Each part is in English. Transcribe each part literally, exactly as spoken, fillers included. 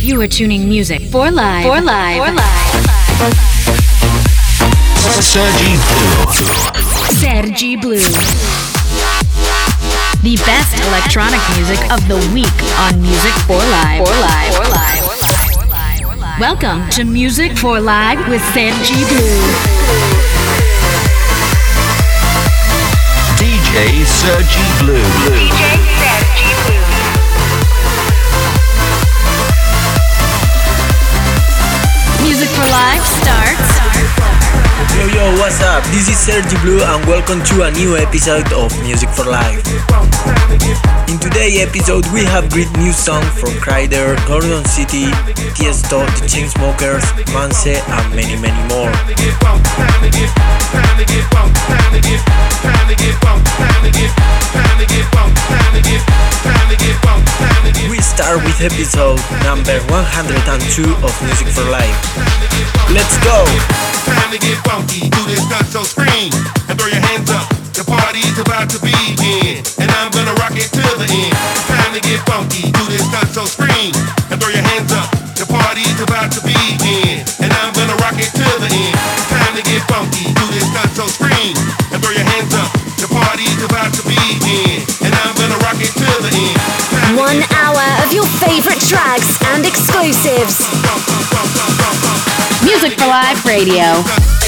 You are tuning music for live. For live. For live. Sergi Blue. Sergi Blue. The best electronic music of the week on Music for Live. For Live. For Live. For Live. Welcome to Music for Live with Sergi Blue. D J Sergi Blue. D J Sergi Blue. Music for Live starts. Yo yo, what's up? This is Sergi Blue and welcome to a new episode of Music for Life. In today's episode we have great new songs from Kryder, Gordon City, Tiesto, The Chainsmokers, Manse and many many more. We start with episode number one hundred two of Music for Life. Let's go! Time to get funky, do this not so scream and throw your hands up. The party's about to begin, and I'm gonna rock it till the end. Time to get funky, do this not so scream and throw your hands up. The party's about to begin, and I'm gonna rock it till the end. Time to get funky, do this not so scream and throw your hands up. The party's about to begin, and I'm gonna rock it till the end. One hour of your favorite tracks and exclusives. Music for Live Radio.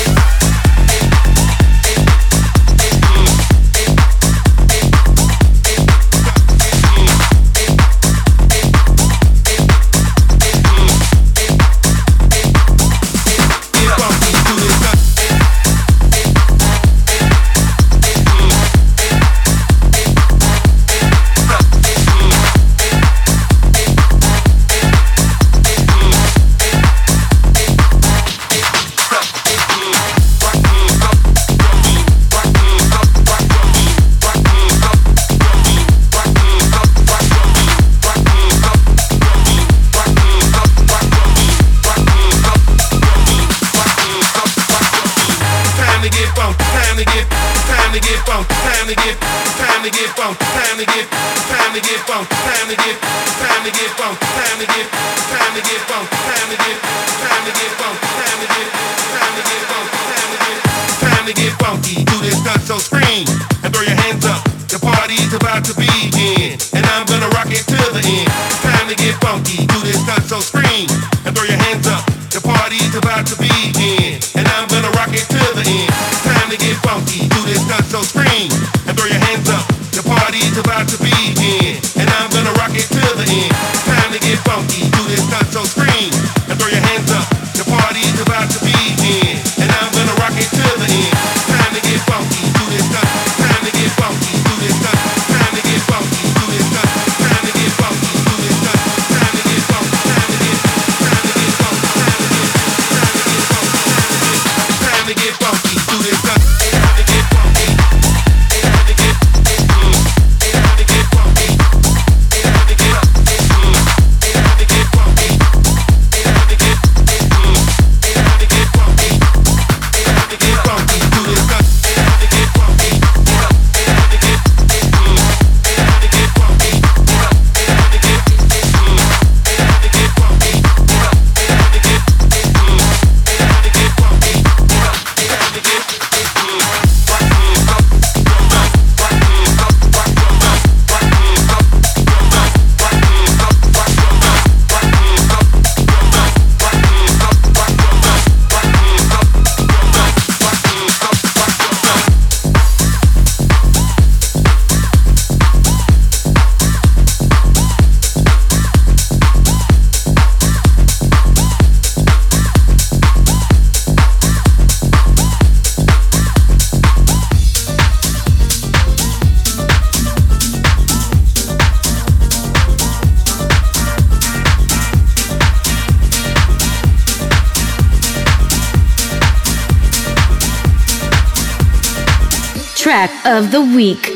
Track of the week.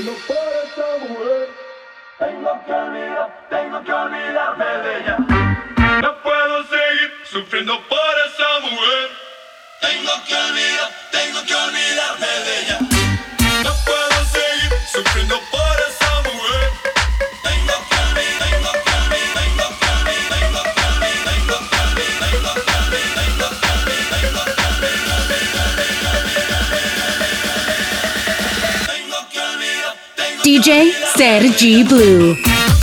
Sufriendo por esa mujer. Tengo que olvidar, tengo que olvidarme de ella. No puedo seguir sufriendo por esa mujer. Tengo que olvidar, tengo que olvidar, tengo que olvidar, tengo que olvidar. J Sergi Blue.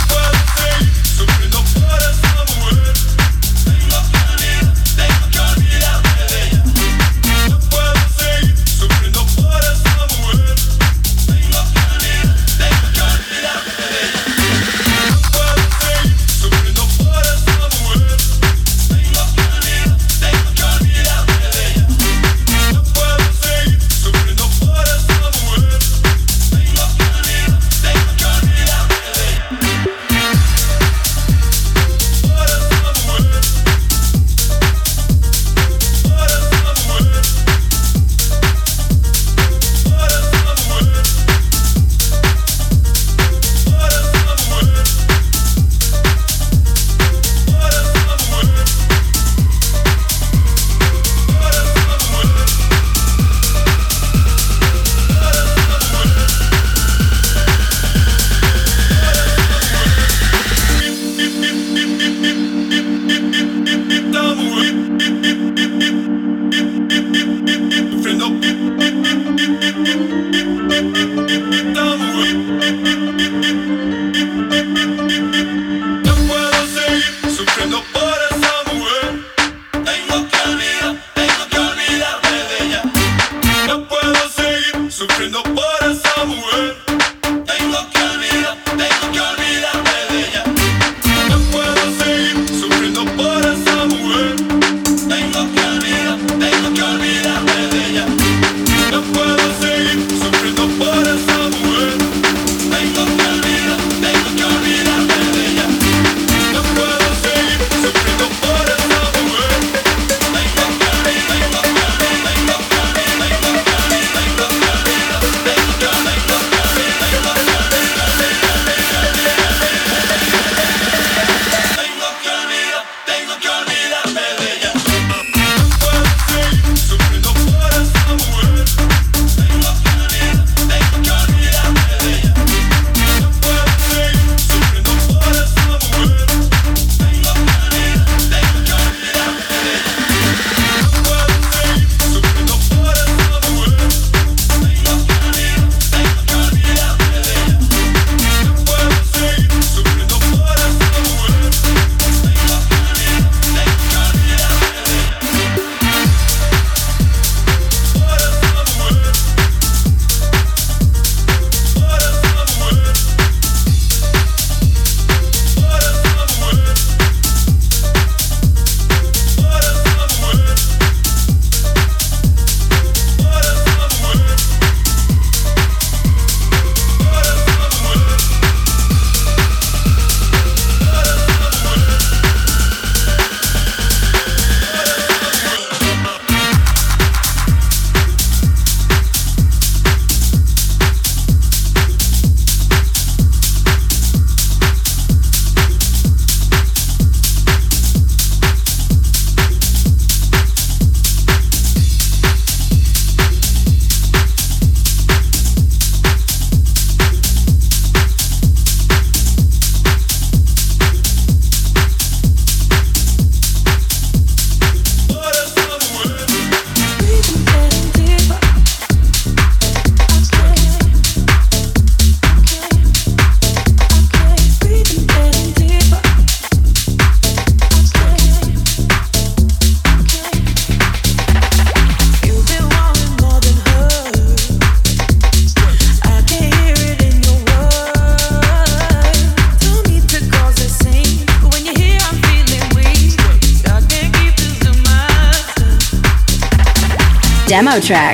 Demo track.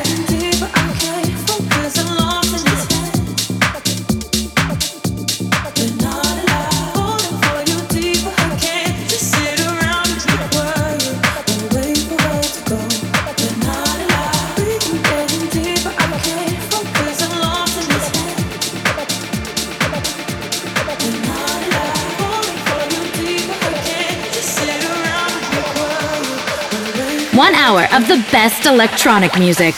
One hour of the best electronic music.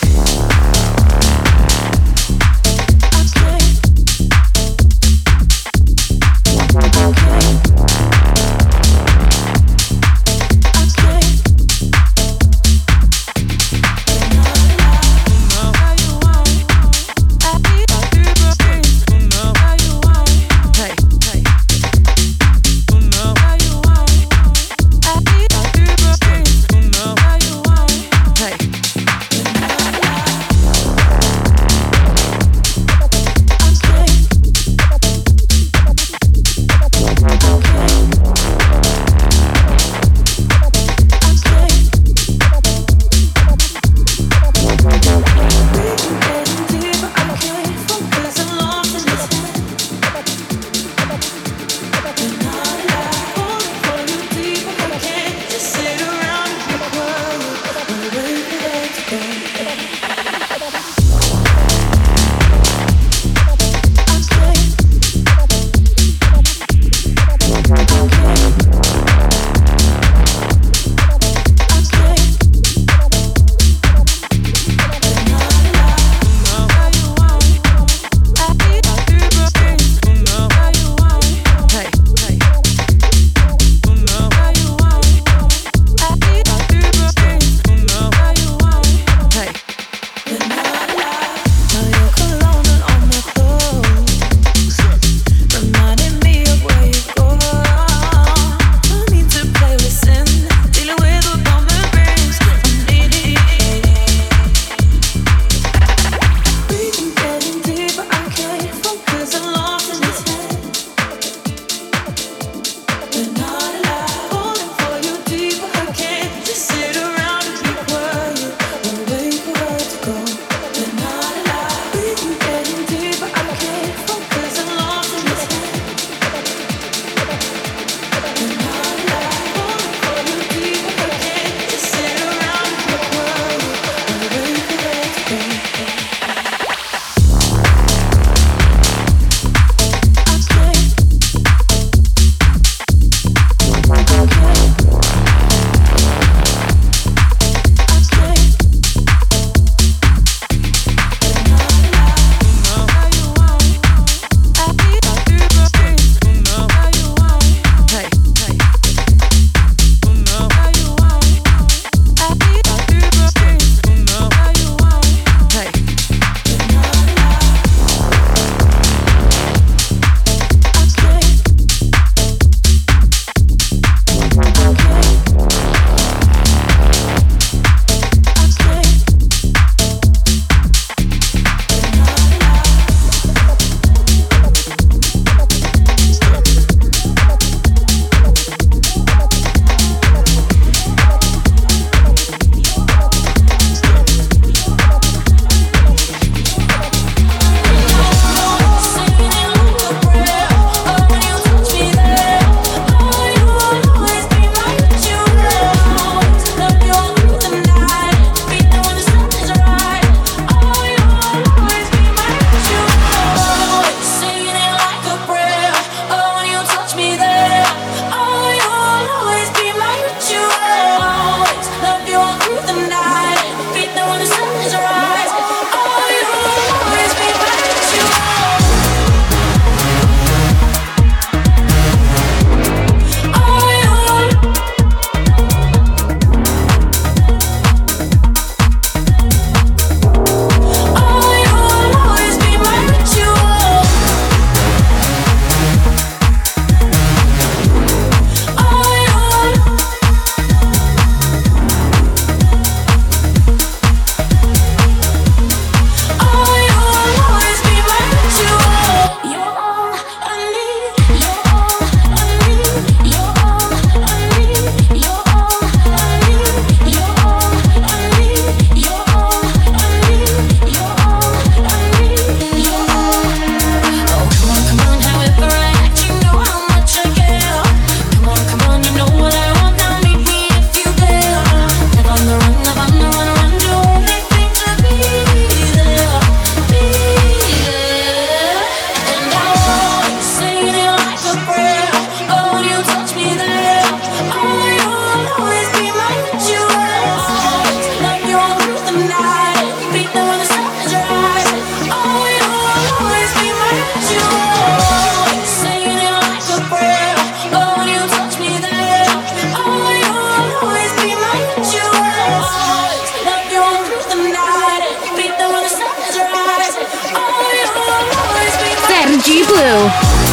Blue.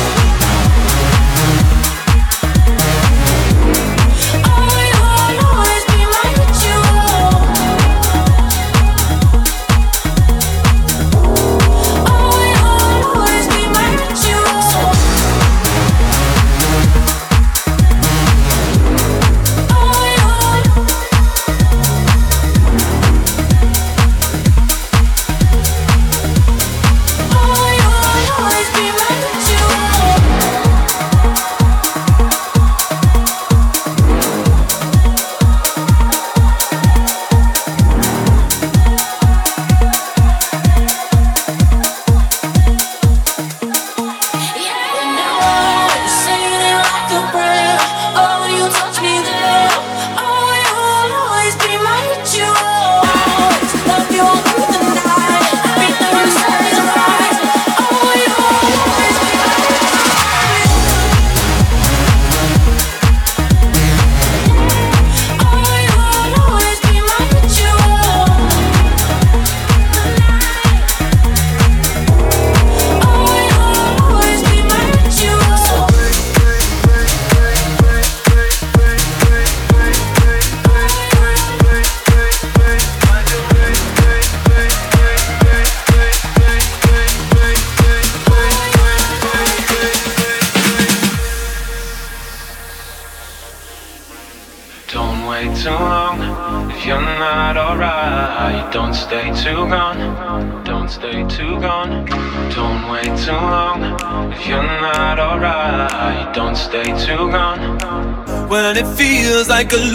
When it feels like a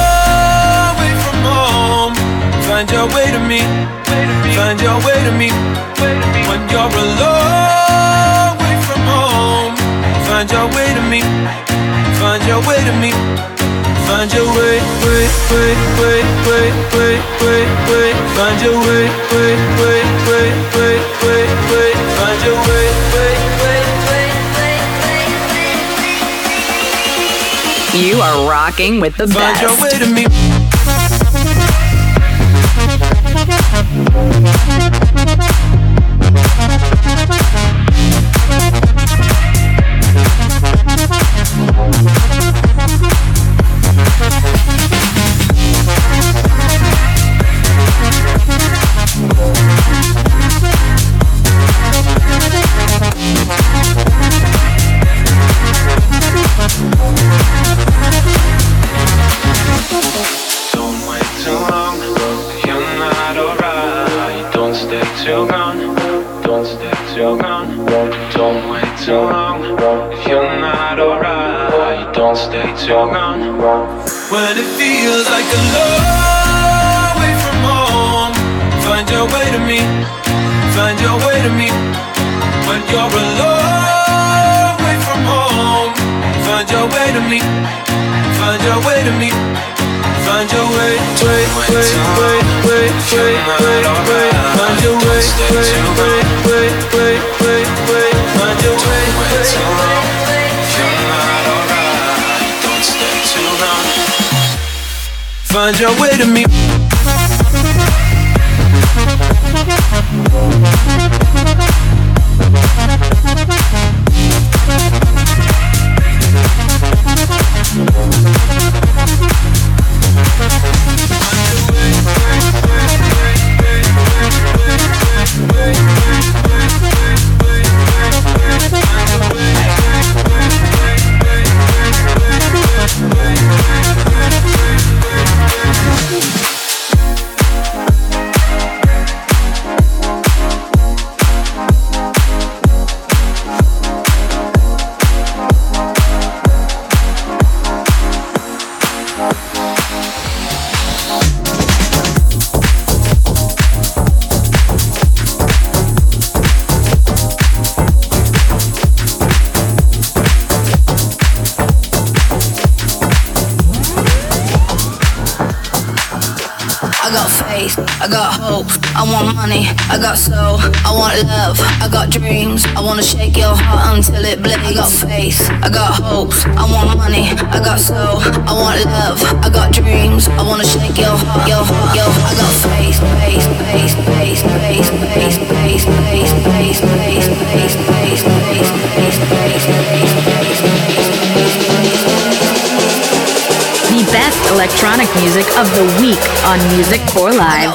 long way from home, find your way to me, find your way to me. When you're a long way from home, find your way to me, find your way to me. Find your way, way, way, way, way, way, way, way. Find your way, way, way, way, way, way, way. Find your way, way, way, way, way, way, way. You are rocking with the Find best. your way to me. When it feels like a long way from home, find your way to me, find your way to me. When you're a long way from home, find your way to me, find your way to me. Find your way, way, way, way, way, way, way, way. Find your way, way, way, way, way, way, way. Find your way, way, way, way. Find your way to me. I got hope, I want money, I got soul, I want love, I got dreams, I wanna shake your heart until it bleeds. I got faith, I got hopes, I want money, I got soul, I want love, I got dreams, I wanna shake your heart, your heart, your heart. I got faith, faith, faith, faith, faith, faith, faith, faith, faith, faith, faith, faith, faith. the best electronic music of the week on Music for Live.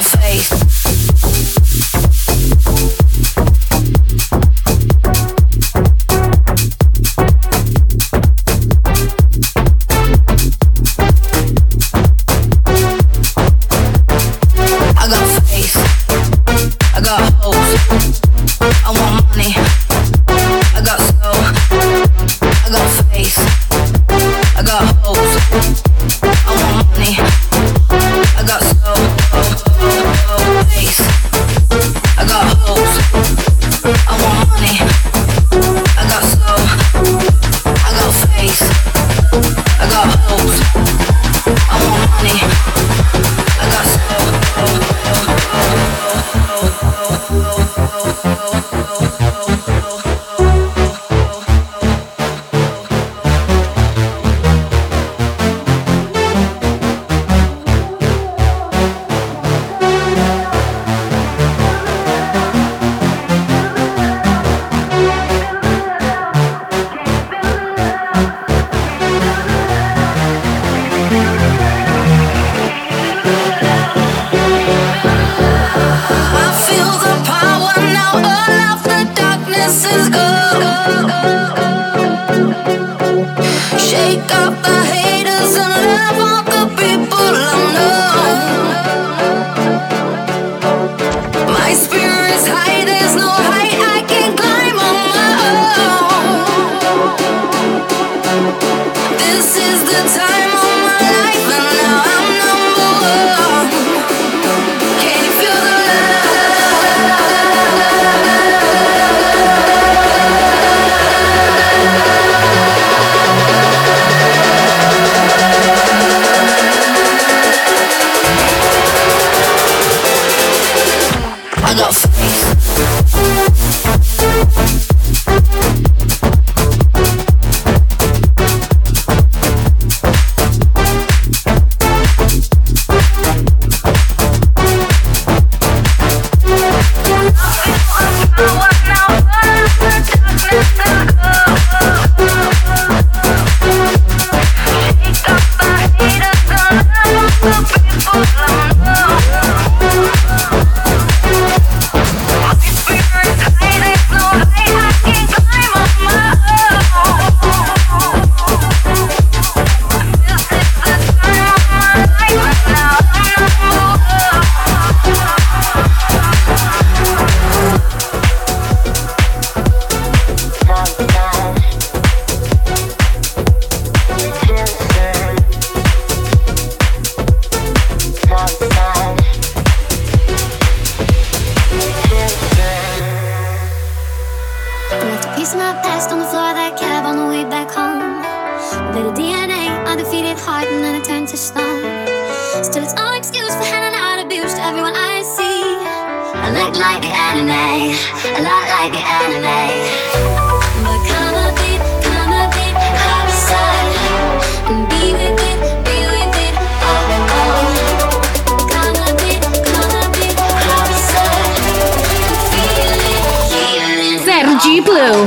Sergi Blue.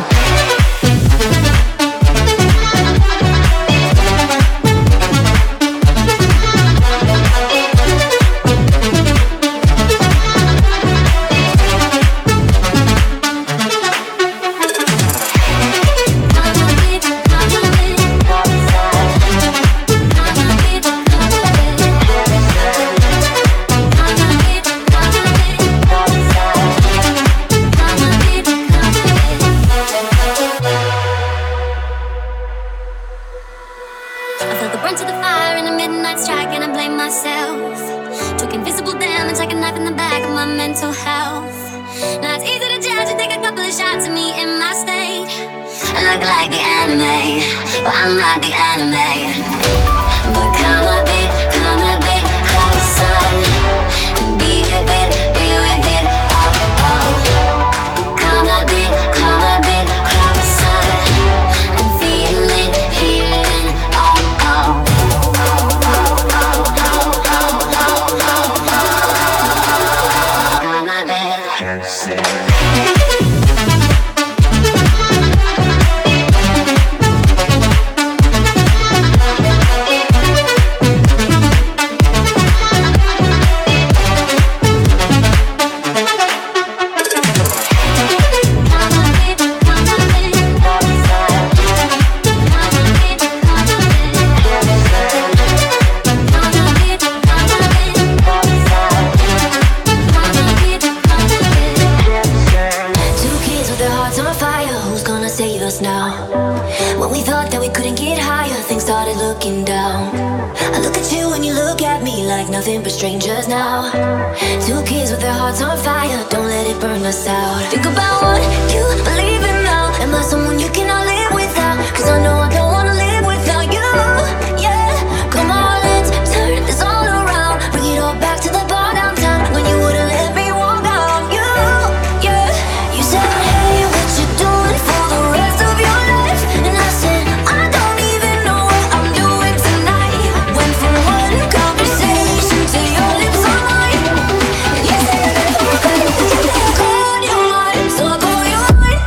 I look at you and you look at me like nothing but strangers now. Two kids with their hearts on fire, don't let it burn us out. Think about what you believe in now. Am I someone you cannot live without? Cause I know I don't wanna live without you. Yeah, come on, let's turn this all around. Bring it all back to the bar downtown when you wouldn't let me walk out on you. Yeah, you said, hey, what you doing for the rest of your life? And I said, I don't even know what I'm doing tonight. Went from one conversation to your lips on mine. And you said, okay, I called your mind, so I call your mind.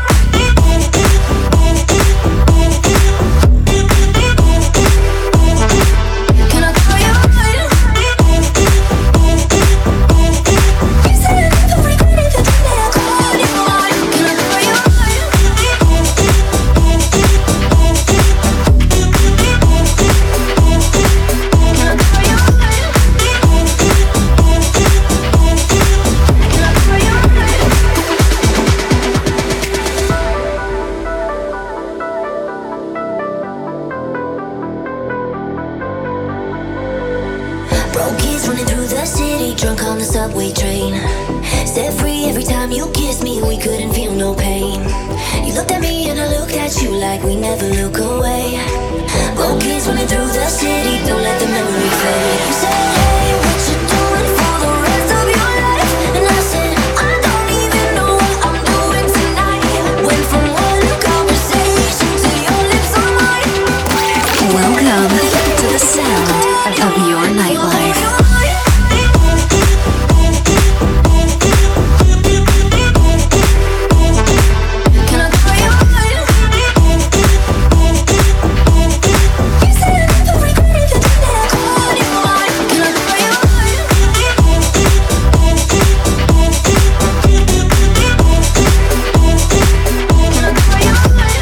Can I call your mind? You said I never regret it, but then I called your mind. Can I call your mind? Can I call your mind? Can I call your mind? Broke kids running through the city, drunk on the subway train. Set free every time you kissed me, we couldn't feel no pain. You looked at me and I looked at you like we never look away. Broke kids running through the city, don't let the memory fade. You said, hey, what you doing for the rest of your life? And I said, I don't even know what I'm doing tonight. Went from one conversation to your lips on mine. Welcome to the sound of your nightlife. Can I call your mind? You said I never regret it, but then I called your mind. Can I call your mind? Can I call your mind?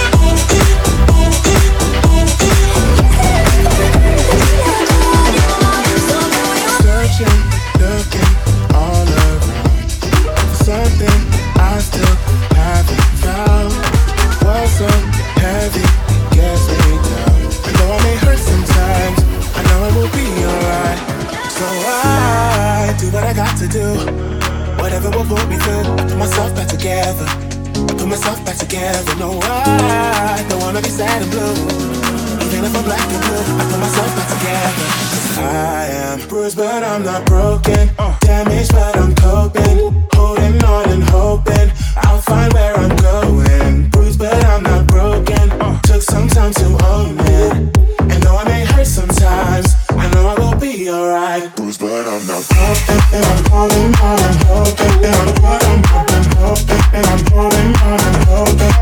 Searching, looking all around for something I still haven't found. What's so heavy gets me down. And though I may hurt sometimes, I know it will be alright. So I do what I got to do, whatever will pull me through. I put myself back together. I put myself back together. No, I don't wanna be sad and blue. Even if I'm black and blue, I put myself back together. I am bruised, but I'm not broken. Damaged, but I'm coping. Holding on and hoping I'll find where I'm going. Bruised, but I'm not broken. Took some time to own it. And though I may hurt sometimes, I know I will be alright. Bruised, but I'm not broken. And I'm holding on and hoping. And I'm holding on and hoping. And I'm holding on and hoping.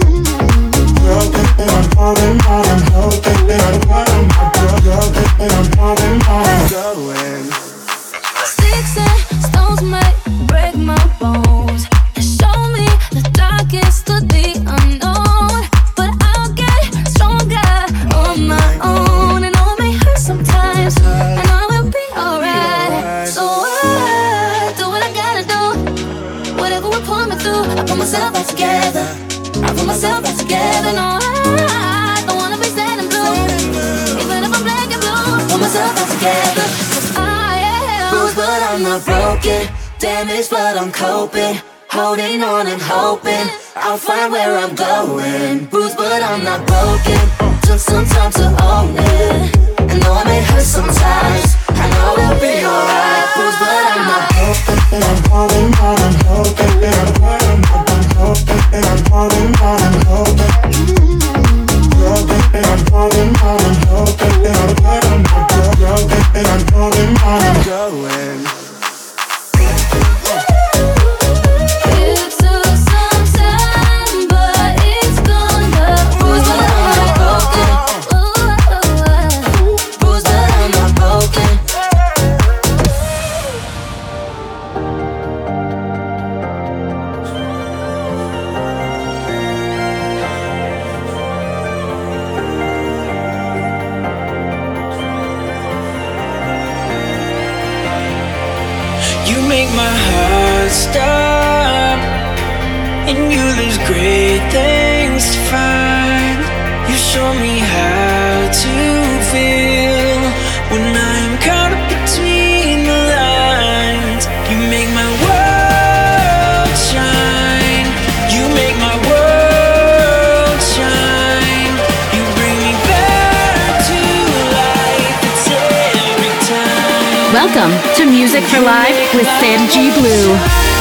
Broken, and I'm holding on and hoping. And I'm holding on and I'm holding on and going. Sticks and stones might break my bones and show me the darkest of the unknown. But I'll get stronger on my own. And all may hurt sometimes, and I will be alright. So I do what I gotta do, whatever will pull me through. I put myself back together. I put myself back together. No, I don't wanna be sad and blue. Even if I'm black and blue, I put myself back together. 'Cause I am bruised, but I'm not broken. Damaged, but I'm coping. Holding on and hoping I'll find where I'm going. Bruised, but I'm not broken. Took some time to own it. And though I may hurt sometimes, I know we'll be alright. Bruised, but I'm not broken. And I'm holding on and hoping. And I'm holding on and hoping. And I'm holding on and hoping. Broken, and I'm holding on and hoping. And I'm holding on and broken. And I'm holding on and going. It took some time, but it's gonna bruise, but I'm not broken. Ooh, bruise, but I'm not broken. You make my heart stop, and you there's great things to find. You show me how to feel Welcome to Music for Live with Sergi Blue.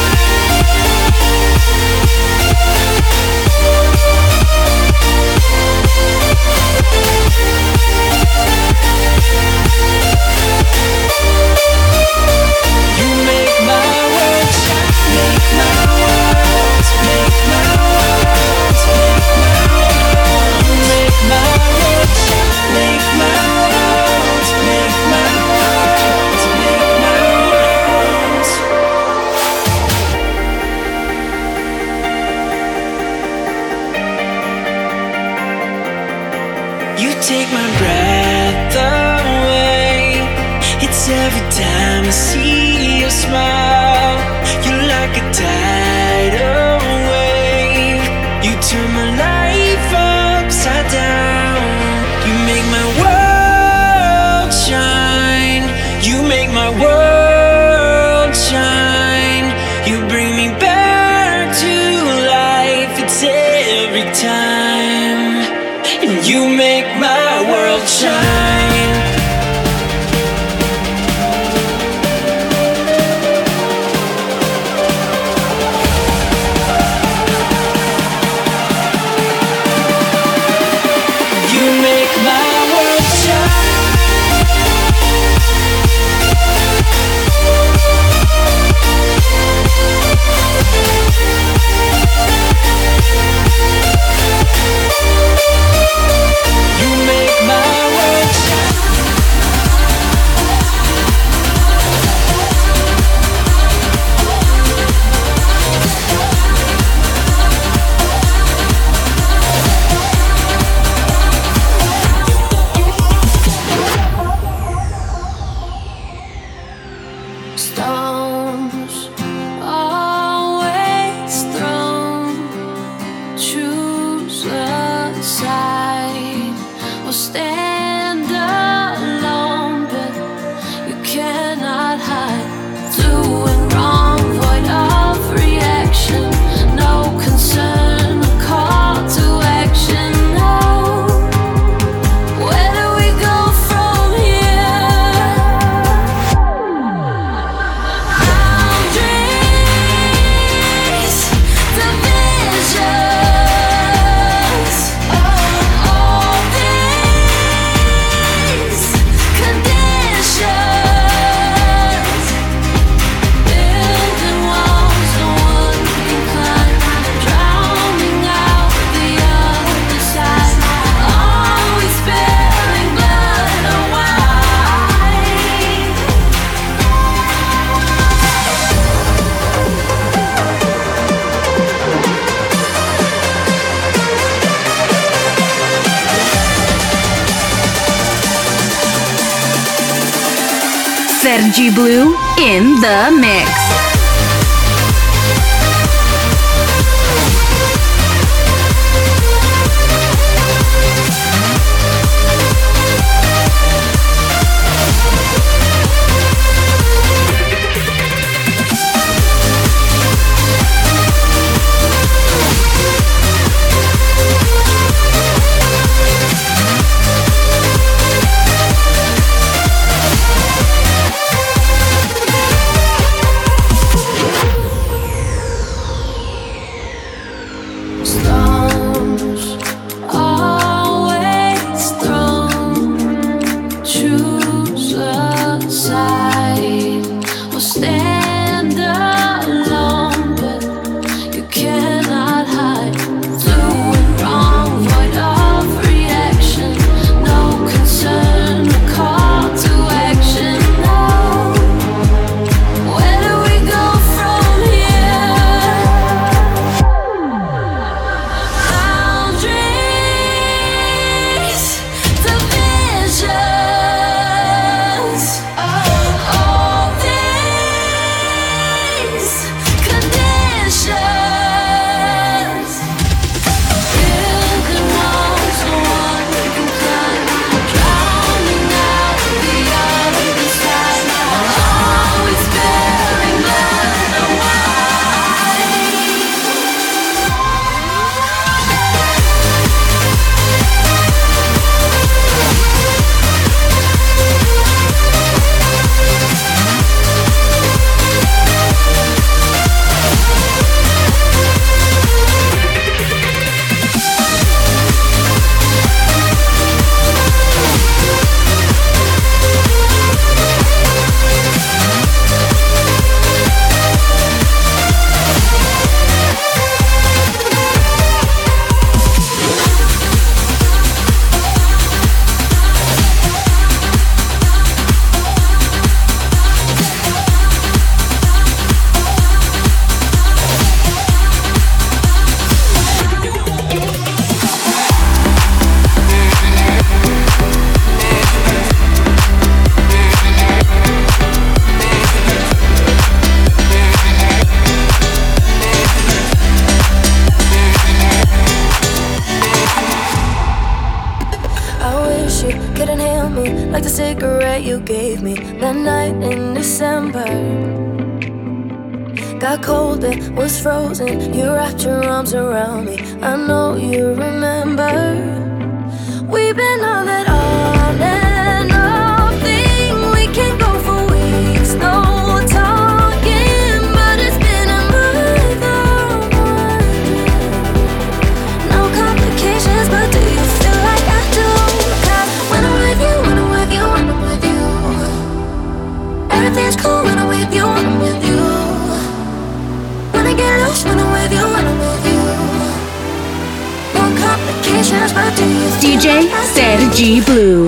Take my breath away. It's every time I see your smile. You're like a tidal wave. You turn my life upside down. You make my world shine. You make my world shine. You bring me back to life. It's every time. And you make my world shine. You make my world shine. You make my world shine. Stones always thrown. Choose a side or stand alone, but you cannot hide. Doing wrong, void of reaction. No concern, a call to action. No. Where do we go from here? Boundaries, divisions, all these conditions. Building walls no one can climb, drowning out the other side. Always spilling blood or wine. Sergi Blue in the mix. gave me that night in December. Got cold, it was frozen. You wrapped your arms around me. I know you remember. We've been on that on and off thing. We can go for weeks, no talking, but it's been a month or more. No complications, but do you feel like I do? 'Cause when I'm with you, when I'm with you, when I'm with you, everything's cool when I'm with you, when I'm with you. When I get loose, when I'm with you, when I'm with you. No complications, but do you feel D J like I do? Sergi Blue.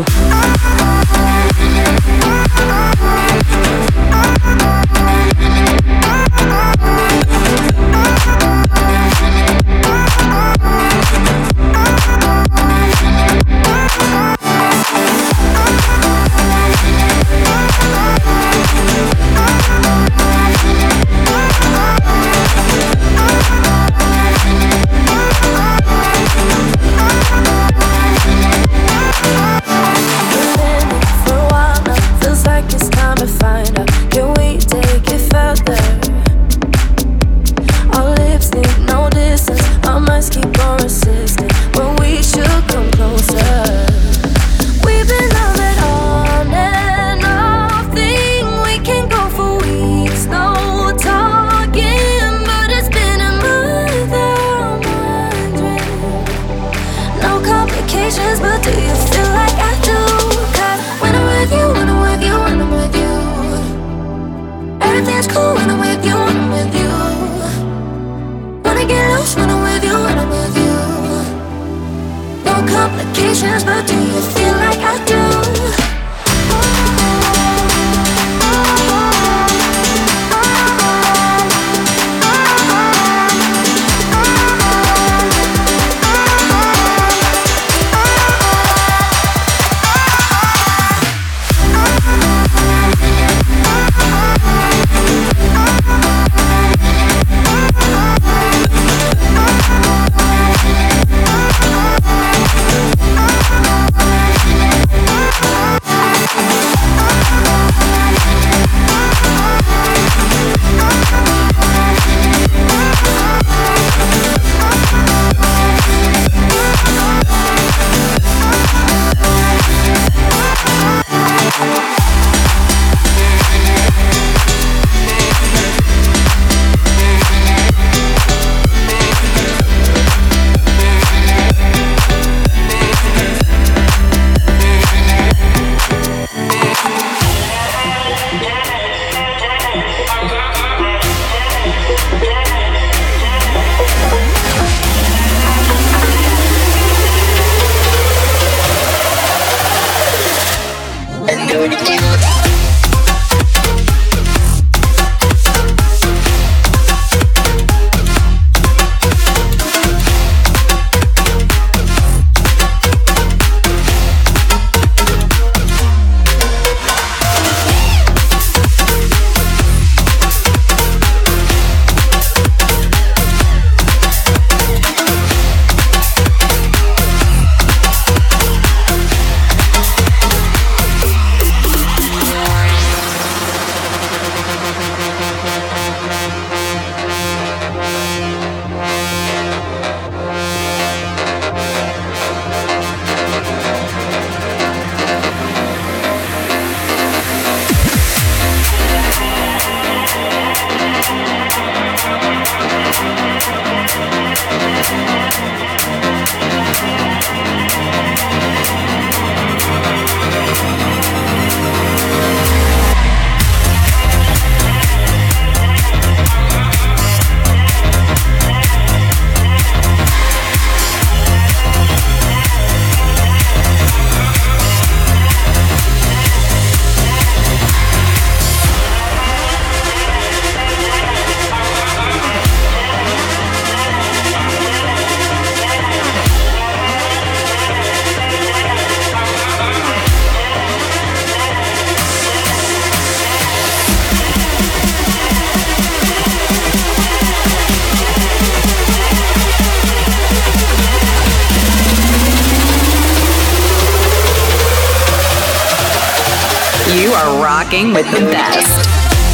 are rocking with the best.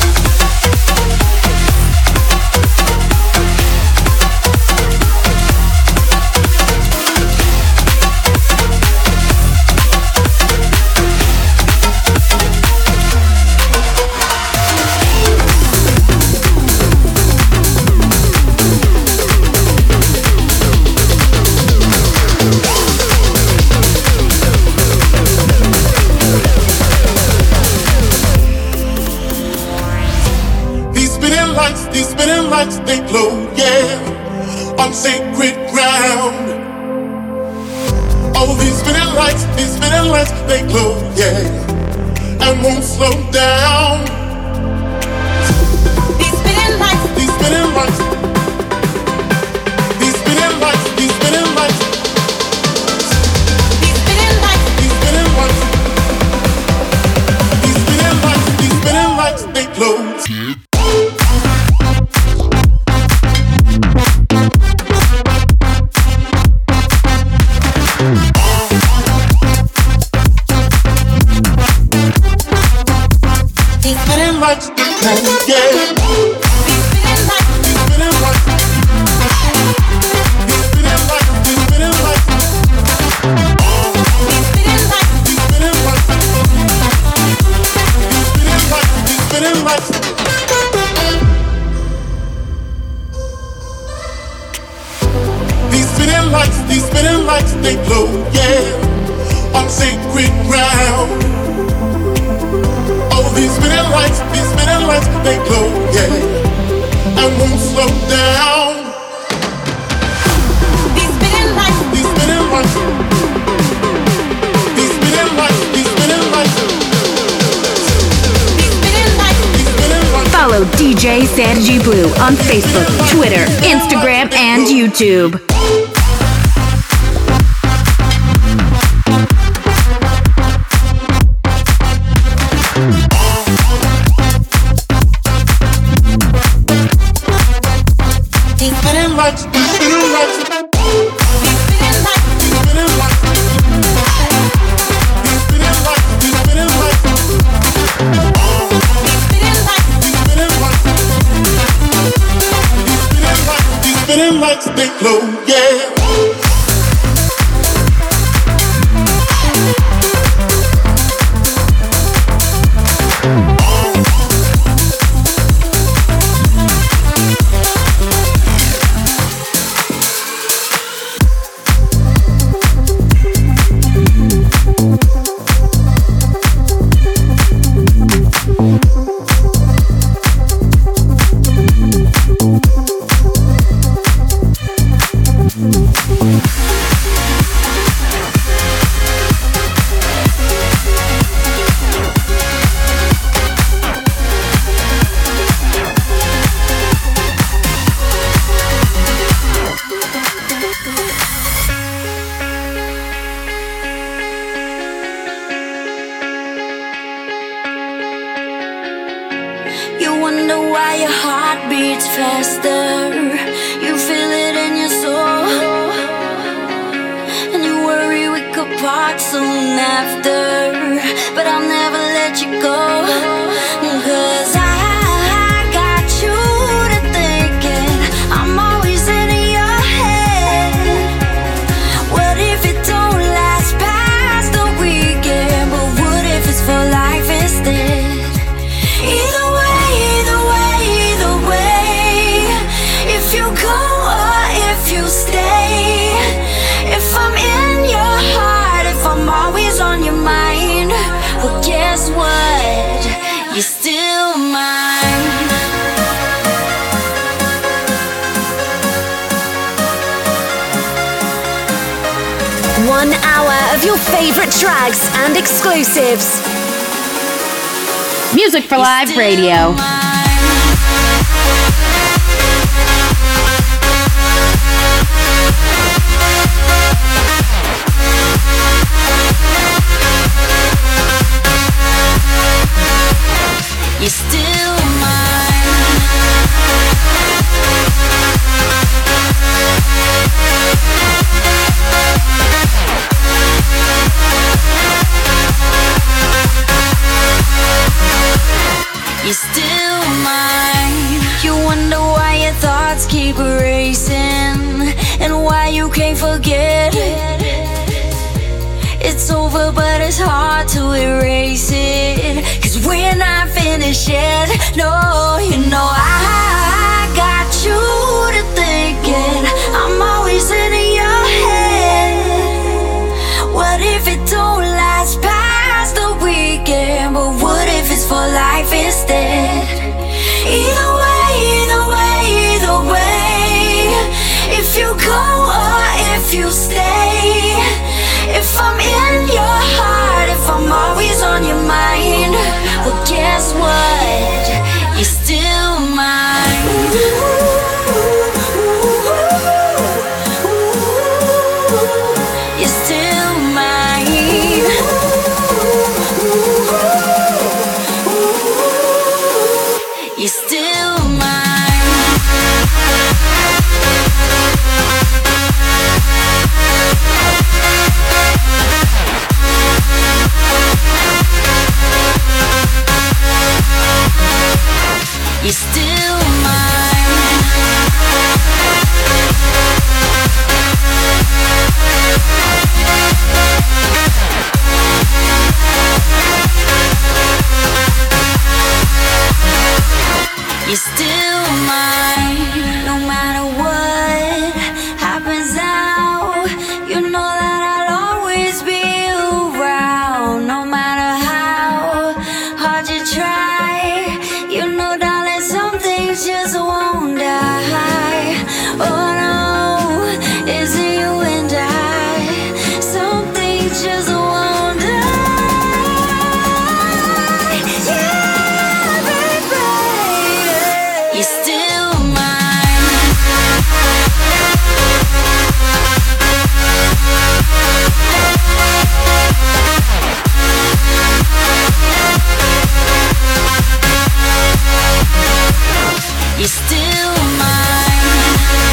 These spinning lights, they glow, yeah, on sacred ground. Oh, these spinning lights, these spinning lights, they glow, yeah, and won't slow down. These spinning lights, these spinning lights, these spinning lights, these spinning lights, these spinning lights, these spinning lights, these spinning lights, these spinning lights, they glow. They glow, yeah, on sacred ground. Oh, these spinning lights, these spinning lights, they glow, yeah, and won't slow down. These spinning lights, these spinning lights, these spinning lights, these spinning lights, these spinning lights, these spinning lights. Follow D J Sergi Blue on Facebook, Twitter, Instagram, and YouTube. They glow, yeah. One hour of your favorite tracks and exclusives. Music for Live Radio. You're still mine. you're still mine. You wonder why your thoughts keep racing and why you can't forget. It's over, but it's hard to erase it, 'cause we're not finished yet. No, you know I got you to thinking I'm always in your head. What if it don't last past the weekend? But what if it's for life instead? Either way, either way, either way, if you go or if you stay, if I'm in your heart, if I'm always on your mind, well guess what? You're still mine. You're still mine. You're still mine. You're still mine. You're still mine. No matter what happens now, you know that I'll always be around. No matter how hard you try, you know darling, some things just won't die. Oh no, it's you and I. Some things just won't die. Yeah, baby, you're still mine. You're still mine.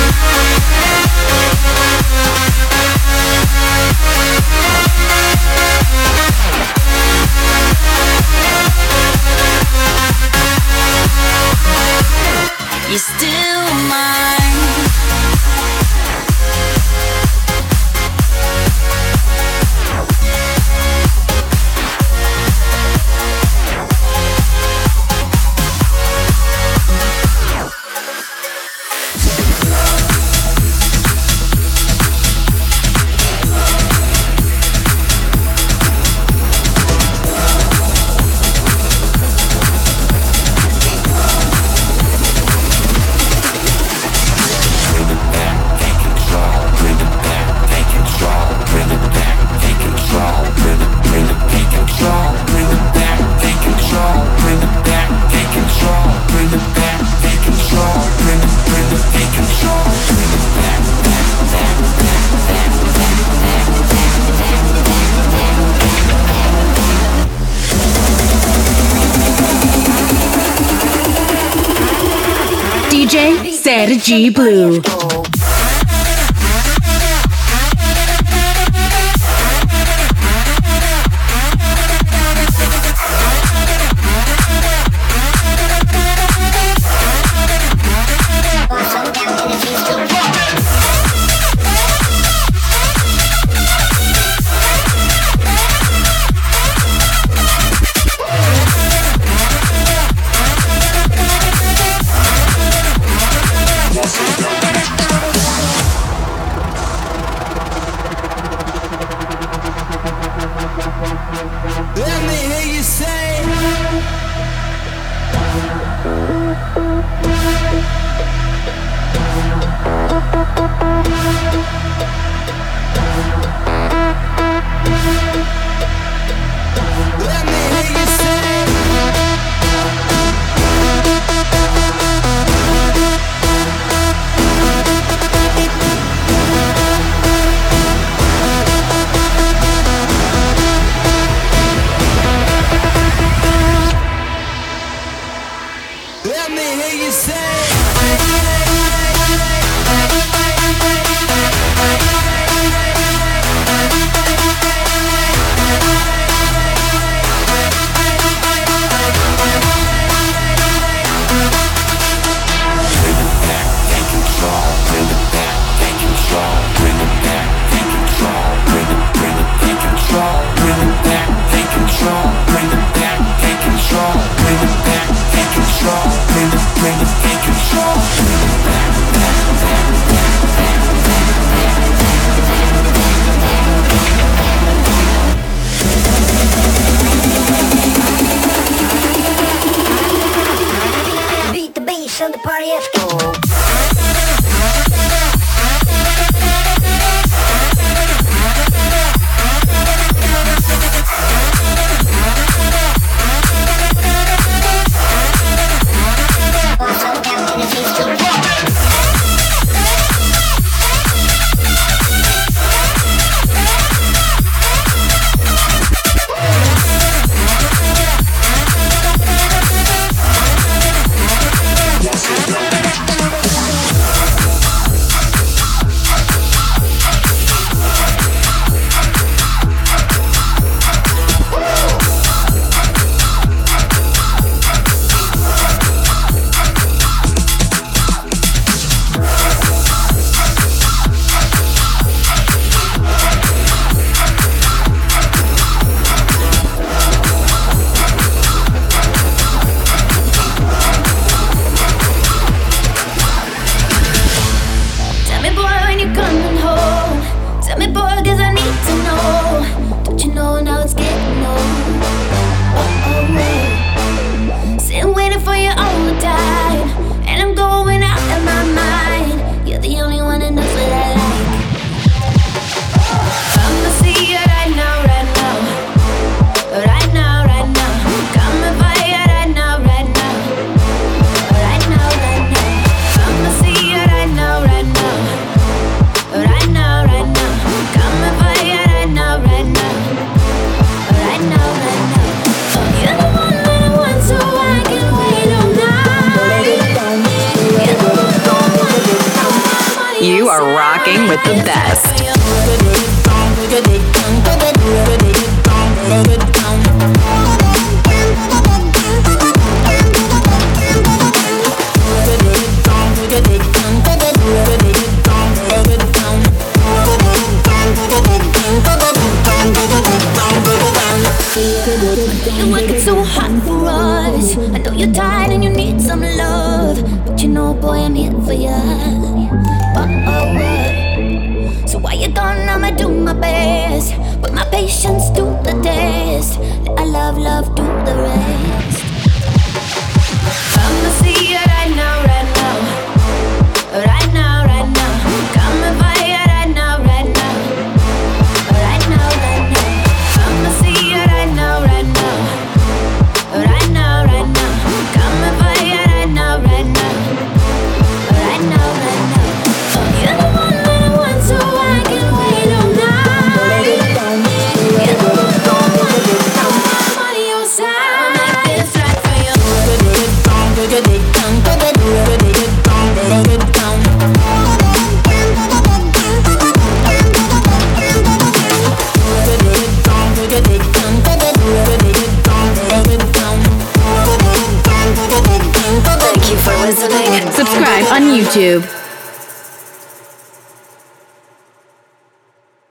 You're still mine. D J Sergi Blue. Let me hear you say. Let me hear you say. Let me hear you say. are rocking with the best. You're working so hard for us. I know you're tired and you need some love, but you know, boy, I'm here for you. Oh, oh, oh. So while you're gone, I'ma do my best. Put my patience to the test. Let our love, love do the rest. I'ma see you right now, right now, right now, right now. Come and find you right now, right now, right now, right now. I'ma see you right now, right now, right now, right now. Come and find you right now, right now, right now, right now. You're the one that I want, so I can wait all night. You're the one that I want, so I'm on your side. I'ma make this right for you. Subscribe on YouTube.